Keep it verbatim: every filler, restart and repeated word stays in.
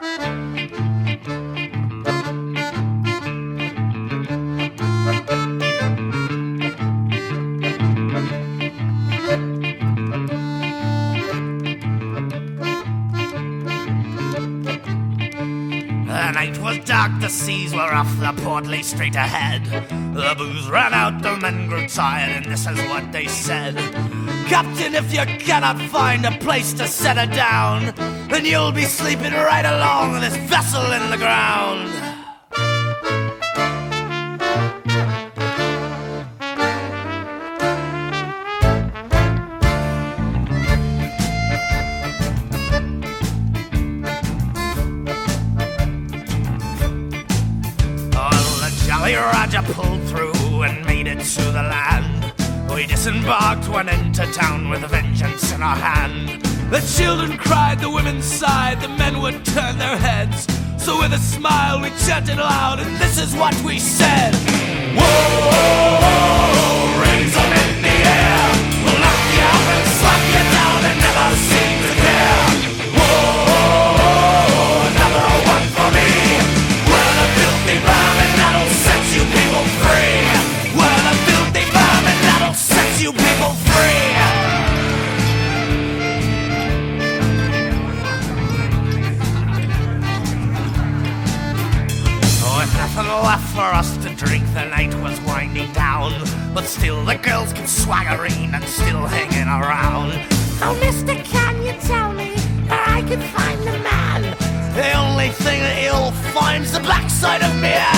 The night was dark, the seas were off, the port lay straight ahead. The booze ran out, the men grew tired, and this is what they said. Captain, if you cannot find a place to set her down, then you'll be sleeping right along this vessel in the ground. Roger pulled through and made it to the land. We disembarked, went into town with vengeance in our hand. The children cried, the women sighed, the men would turn their heads. So with a smile we chanted loud, and this is what we said. Whoa, raise them in the air. We'll knock you out and slap you down and never seem to care. Whoa, another one for me. We're the filthy vermin that'll set you people free. We're the filthy vermin that'll set you people free. Oh, with nothing left for us to drink, the night was winding down. But still the girls kept swaggering and still hanging around. Oh, mister, can you tell me where I can find the man? The only thing that you'll find's the backside of me.